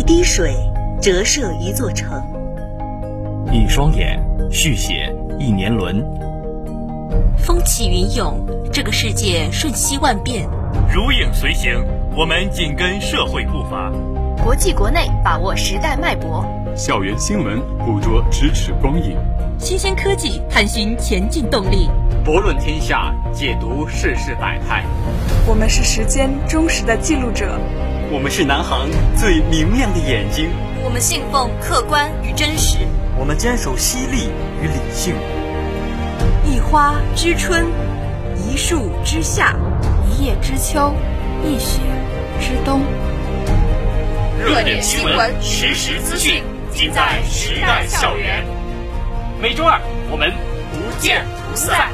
滴水折射一座城， 一双眼续写一年轮。 风起云涌，这个世界瞬息万变。 如影随形，我们紧跟社会步伐。 国际国内把握时代脉搏， 校园新闻捕捉咫尺光影， 新鲜科技探寻前进动力， 博论天下，解读世事百态。 我们是时间忠实的记录者， 我们是南航最明亮的眼睛， 我们信奉客观与真实， 我们坚守犀利与理性。 一花知春，一树知夏， 一叶知秋，一雪知冬。 热点新闻，实时资讯，尽在时代校园。每周二，我们不见不散。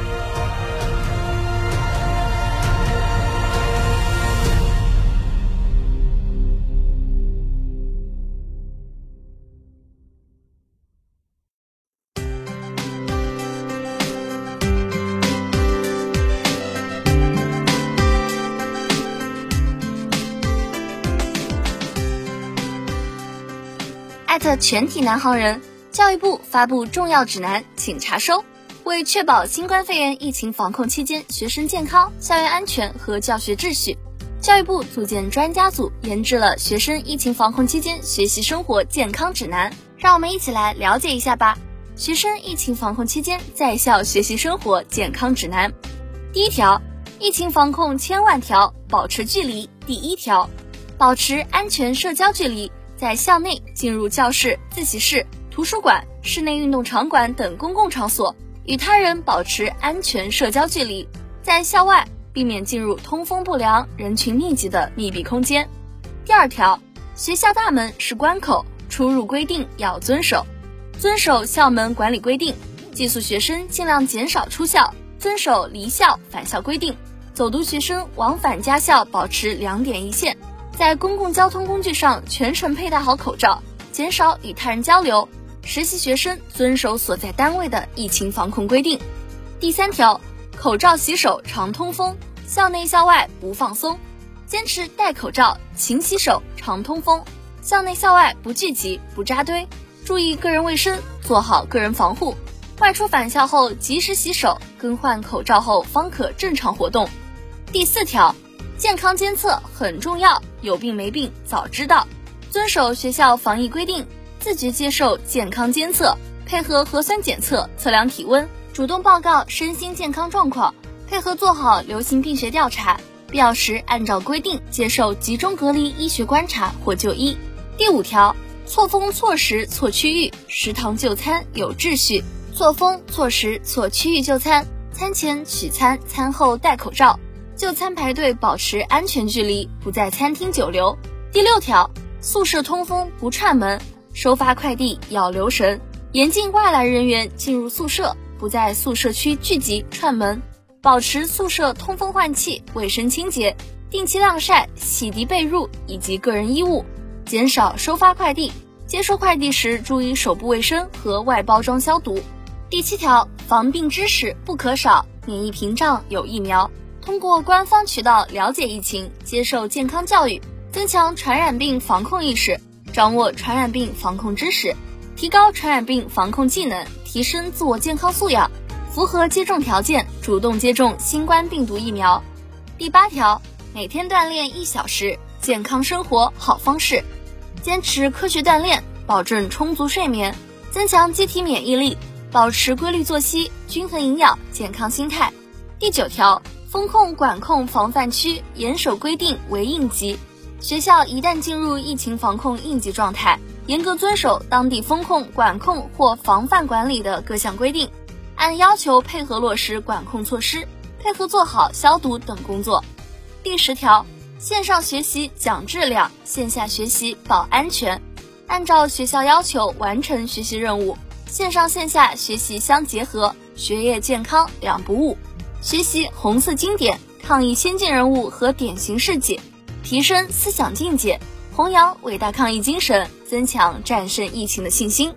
全体南航人，教育部发布重要指南，请查收。为确保新冠肺炎疫情防控期间学生健康、校园安全和教学秩序，教育部组建专家组研制了学生疫情防控期间学习生活健康指南。让我们一起来了解一下吧。学生疫情防控期间在校学习生活健康指南。第一条，疫情防控千万条，保持距离。第一条，保持安全社交距离。在校内进入教室、自习室、图书馆、室内运动场馆等公共场所，与他人保持安全社交距离。在校外避免进入通风不良、人群密集的密闭空间。第二条，学校大门是关口，出入规定要遵守。遵守校门管理规定，寄宿学生尽量减少出校，遵守离校返校规定。走读学生往返家校保持2点一线。在公共交通工具上全程佩戴好口罩，减少与他人交流。实习学生遵守所在单位的疫情防控规定。第三条，口罩洗手常通风，校内校外不放松。坚持戴口罩、勤洗手、常通风，校内校外不聚集、不扎堆，注意个人卫生，做好个人防护。外出返校后及时洗手，更换口罩后方可正常活动。第四条，健康监测很重要，有病没病早知道。遵守学校防疫规定，自觉接受健康监测，配合核酸检测测量体温，主动报告身心健康状况，配合做好流行病学调查，必要时按照规定接受集中隔离医学观察或就医。第五条，错峰错时错区域，食堂就餐有秩序。错峰错时错区域就餐，餐前取餐，餐后戴口罩。就餐排队保持安全距离，不在餐厅久留。第六条，宿舍通风不串门，收发快递要留神，严禁外来人员进入宿舍，不在宿舍区聚集串门，保持宿舍通风换气，卫生清洁，定期晾晒、洗涤被褥以及个人衣物，减少收发快递，接收快递时注意手部卫生和外包装消毒。第七条，防病知识不可少，免疫屏障有疫苗。通过官方渠道了解疫情，接受健康教育，增强传染病防控意识，掌握传染病防控知识，提高传染病防控技能，提升自我健康素养，符合接种条件，主动接种新冠病毒疫苗。第八条，每天锻炼1小时，健康生活好方式。坚持科学锻炼，保证充足睡眠，增强机体免疫力，保持规律作息，均衡营养，健康心态。第九条，风控管控防范区严守规定为应急，学校一旦进入疫情防控应急状态，严格遵守当地风控管控或防范管理的各项规定，按要求配合落实管控措施，配合做好消毒等工作。第10条，线上学习讲质量，线下学习保安全，按照学校要求完成学习任务，线上线下学习相结合，学业健康两不误。学习红色经典，抗疫先进人物和典型事迹，提升思想境界，弘扬伟大抗疫精神，增强战胜疫情的信心。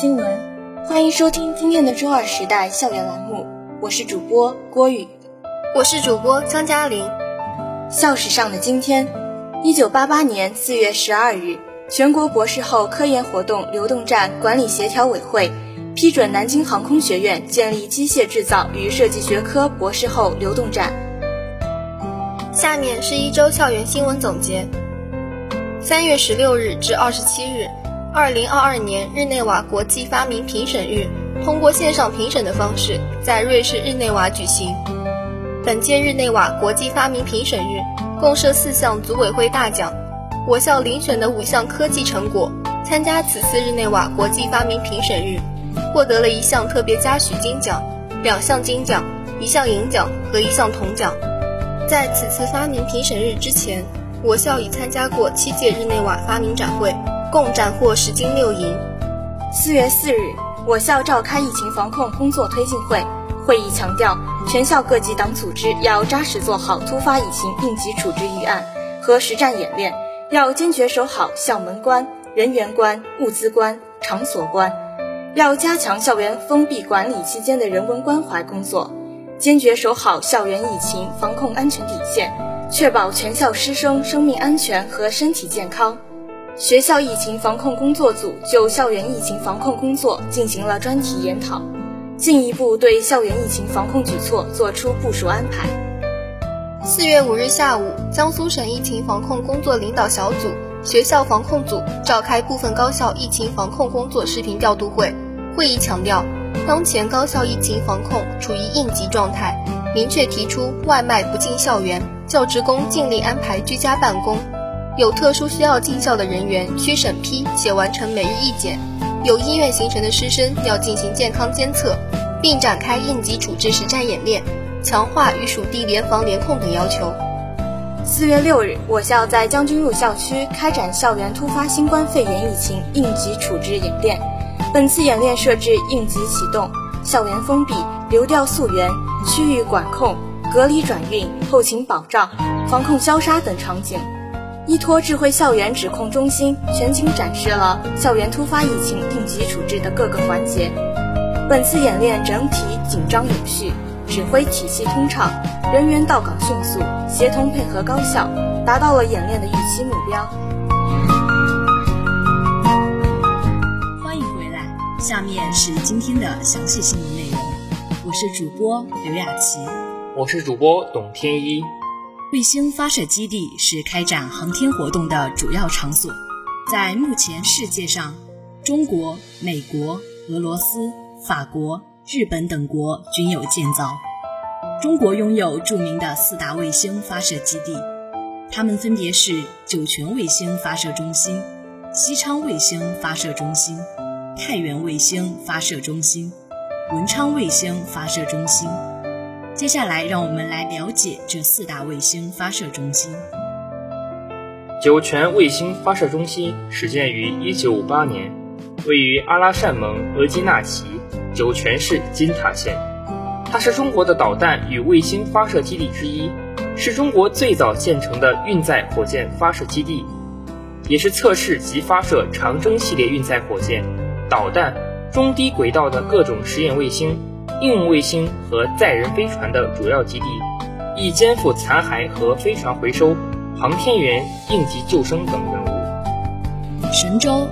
新闻，欢迎收听今天的周二时代校园栏目，我是主播郭宇， 我是主播张嘉玲。 校史上的今天，1988年4月12日，全国博士后科研活动流动站管理协调委会批准南京航空学院建立机械制造与设计学科博士后流动站。 下面是一周校园新闻总结。3月16日至27日，2022年日内瓦国际发明评审日通过线上评审的方式在瑞士日内瓦举行。本届日内瓦国际发明评审日共设4项组委会大奖，我校遴选的5项科技成果参加此次日内瓦国际发明评审日，获得了1项特别嘉许金奖、2项金奖、1项银奖和1项铜奖。在此次发明评审日之前，我校已参加过7届日内瓦发明展会，共斩获10金6银。 4月4日，我校召开疫情防控工作推进会，会议强调，全校各级党组织要扎实做好突发疫情应急处置预案和实战演练，要坚决守好校门关、人员关、物资关、场所关，要加强校园封闭管理期间的人文关怀工作，坚决守好校园疫情防控安全底线，确保全校师生生命安全和身体健康。学校疫情防控工作组就校园疫情防控工作进行了专题研讨，进一步对校园疫情防控举措作出部署安排。 4月5日下午，江苏省疫情防控工作领导小组、学校防控组召开部分高校疫情防控工作视频调度会。会议强调，当前高校疫情防控处于应急状态，明确提出外卖不进校园，教职工尽力安排居家办公，有特殊需要进校的人员需审批且完成每日一检，有医院行程的师生要进行健康监测，并展开应急处置实战演练，强化与属地联防联控等要求。 4月6日，我校在将军路校区开展校园突发新冠肺炎疫情应急处置演练。本次演练设置应急启动、校园封闭、流调溯源、区域管控、隔离转运、后勤保障、防控消杀等场景，依托智慧校园指控中心全景展示了校园突发疫情应急处置的各个环节。本次演练整体紧张有序，指挥体系通畅，人员到岗迅速，协同配合高效，达到了演练的预期目标。 下面是今天的详细新闻内容，我是主播刘雅琪， 我是主播董天一。 卫星发射基地是开展航天活动的主要场所，在目前世界上，中国、美国、俄罗斯、法国、日本等国均有建造。中国拥有著名的4大卫星发射基地，它们分别是酒泉卫星发射中心、西昌卫星发射中心、太原卫星发射中心、文昌卫星发射中心。接下来让我们来了解这4大卫星发射中心。 酒泉卫星发射中心始建于1958年，位于阿拉善盟额济纳旗酒泉市金塔县。它是中国的导弹与卫星发射基地之一，是中国最早建成的运载火箭发射基地，也是测试及发射长征系列运载火箭、导弹、中低轨道的各种实验卫星、应用卫星和载人飞船的主要基地，亦肩负残骸和飞船回收、航天员应急救生等任务。 神舟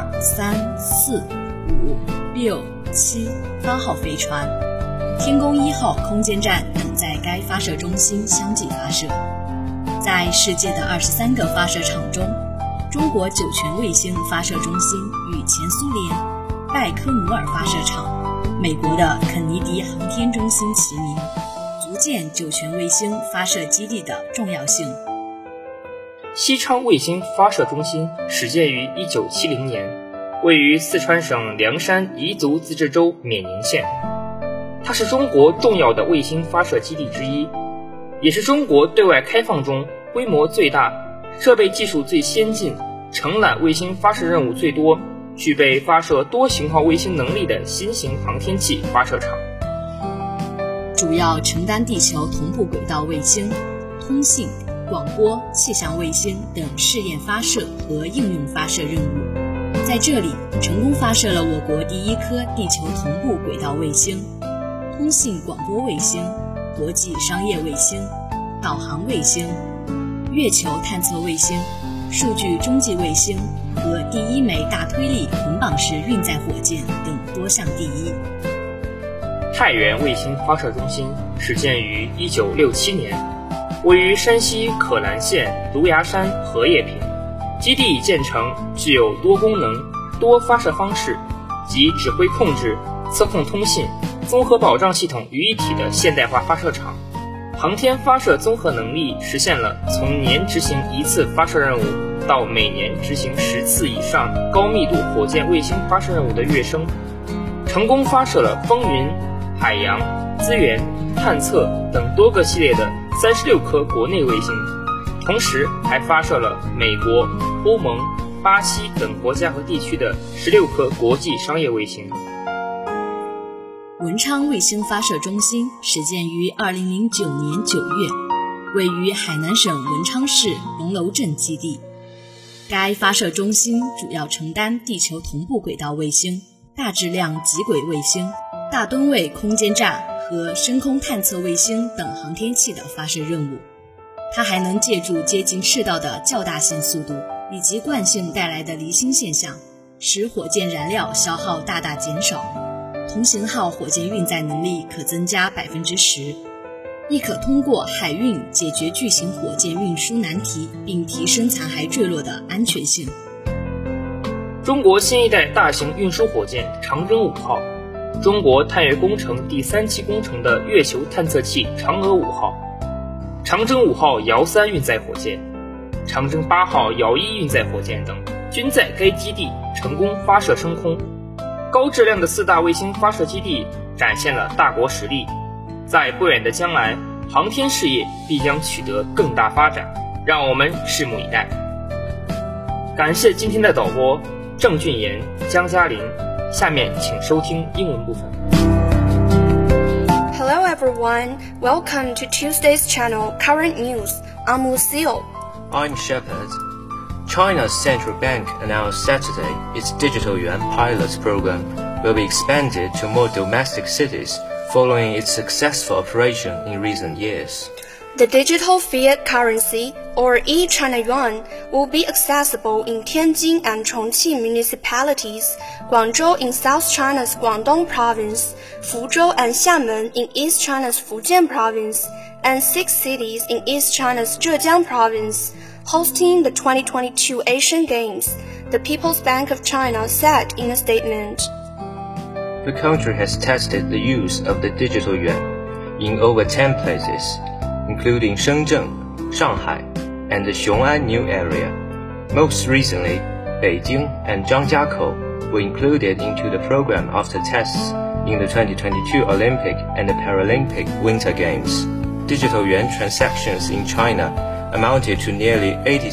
2、3、4、5、6、7发号飞船，天宫1号空间站等在该发射中心相继发射。在世界的23个发射场中，中国酒泉卫星发射中心与前苏联拜科努尔发射场、美国的肯尼迪航天中心齐名，足见酒泉卫星发射基地的重要性。 西昌卫星发射中心始建于1970年，位于四川省凉山彝族自治州冕宁县。它是中国重要的卫星发射基地之一，也是中国对外开放中规模最大、设备技术最先进、承揽卫星发射任务最多、具备发射多型号卫星能力的新型航天器发射场， 主要承担地球同步轨道卫星、通信、广播、气象卫星等试验发射和应用发射任务， 在这里成功发射了我国第一颗地球同步轨道卫星、通信广播卫星、国际商业卫星、导航卫星、月球探测卫星、数据中继卫星和第一枚大推力捆绑式运载火箭等多项第一。 太原卫星发射中心始建于1967年，位于山西可兰县芦芽山荷叶坪。基地建成具有多功能、多发射方式及指挥控制、测控通信、综合保障系统于一体的现代化发射场。航天发射综合能力实现了从年执行1次发射任务到每年执行10次以上高密度火箭卫星发射任务的跃升，成功发射了风云、海洋、资源、探测等多个系列的36颗国内卫星，同时还发射了美国、欧盟、巴西等国家和地区的16颗国际商业卫星。 文昌卫星发射中心始建于2009年9月，位于海南省文昌市龙楼镇基地。该发射中心主要承担地球同步轨道卫星、大质量极轨卫星、大吨位空间站和深空探测卫星等航天器的发射任务。它还能借助接近赤道的较大性速度以及惯性带来的离心现象，使火箭燃料消耗大大减少，同型号火箭运载能力可增加 10%， 亦可通过海运解决巨型火箭运输难题，并提升残骸坠落的安全性。 中国新一代大型运输火箭长征5号，中国探月工程第3期工程的月球探测器嫦娥5号，长征5号遥3运载火箭、长征8号遥1运载火箭等均在该基地成功发射升空。高质量的4大卫星发射基地展现了大国实力，在不远的将来，航天事业必将取得更大发展，让我们拭目以待。感谢今天的导播郑俊言、江嘉玲，下面请收听英文部分。 Hello everyone, welcome to Tuesday's channel Current News. I'm Lucille. I'm Shepard. China's central bank announced Saturday its digital yuan pilot program will be expanded to more domestic cities following its successful operation in recent years. The digital fiat currency, or e-China yuan, will be accessible in Tianjin and Chongqing municipalities, Guangzhou in South China's Guangdong province, Fuzhou and Xiamen in East China's Fujian province, and 6 cities in East China's Zhejiang province, hosting the 2022 Asian Games, the People's Bank of China said in a statement. The country has tested the use of the digital yuan in over 10 places, including Shenzhen, Shanghai, and the Xiong'an New Area. Most recently, Beijing and Zhangjiakou were included into the program after tests in the 2022 Olympic and the Paralympic Winter Games. Digital yuan transactions in China amounted to nearly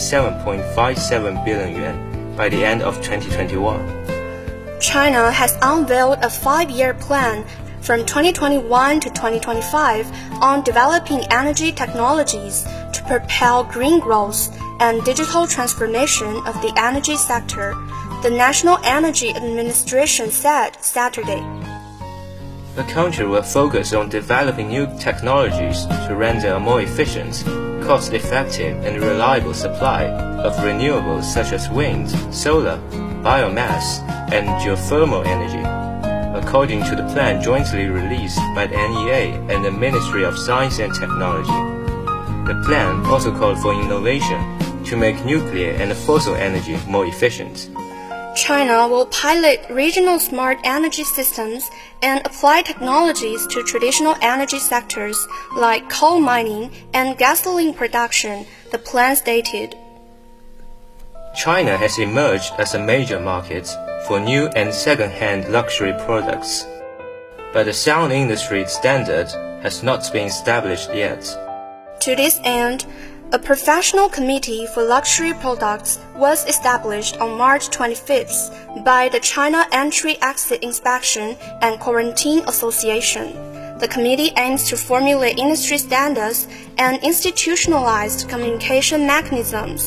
87.57 billion yuan by the end of 2021. China has unveiled a 5-year plan from 2021 to 2025 on developing energy technologies to propel green growth and digital transformation of the energy sector, the National Energy Administration said Saturday. The country will focus on developing new technologies to render a more efficient, cost-effective and reliable supply of renewables such as wind, solar, biomass, and geothermal energy, according to the plan jointly released by the NEA and the Ministry of Science and Technology. The plan also called for innovation to make nuclear and fossil energy more efficient. China will pilot regional smart energy systems and apply technologies to traditional energy sectors like coal mining and gasoline production, the plan stated. China has emerged as a major market for new and second-hand luxury products, but the sound industry standard has not been established yet. To this end, a professional committee for luxury products was established on March 25th by the China Entry-Exit Inspection and Quarantine Association. The committee aims to formulate industry standards and institutionalized communication mechanisms.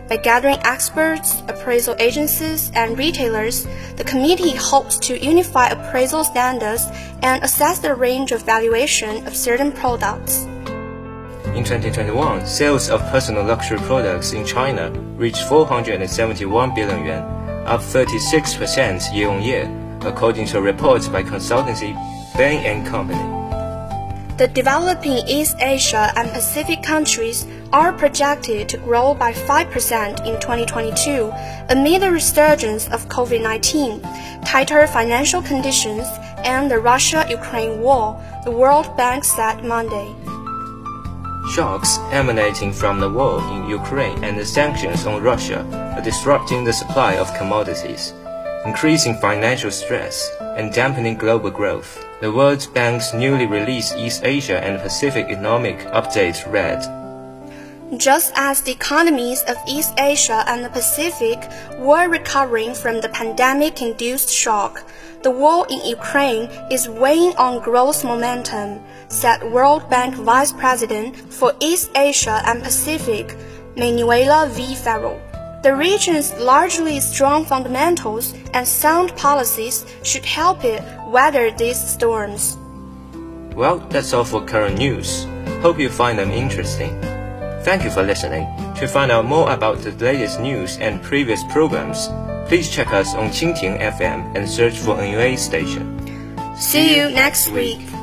By gathering experts, appraisal agencies, and retailers, the committee hopes to unify appraisal standards and assess the range of valuation of certain products. In 2021, sales of personal luxury products in China reached 471 billion yuan, up 36% year-on-year, according to a report by consultancy Bain & Company. The developing East Asia and Pacific countries are projected to grow by 5% in 2022 amid the resurgence of COVID-19, tighter financial conditions, and the Russia-Ukraine war, the World Bank said Monday. Shocks emanating from the war in Ukraine and the sanctions on Russia are disrupting the supply of commodities, increasing financial stress, and dampening global growth. The World Bank's newly released East Asia and Pacific Economic Update read, Just as the economies of East Asia and the Pacific were recovering from the pandemic-induced shock, the war in Ukraine is weighing on growth momentum, said World Bank Vice President for East Asia and Pacific, Manuela V. Farrell. The region's largely strong fundamentals and sound policies should help it weather these storms. Well, that's all for current news. Hope you find them interesting. Thank you for listening. To find out more about the latest news and previous programs, please check us on Qingting FM and search for NUA station. See you next week.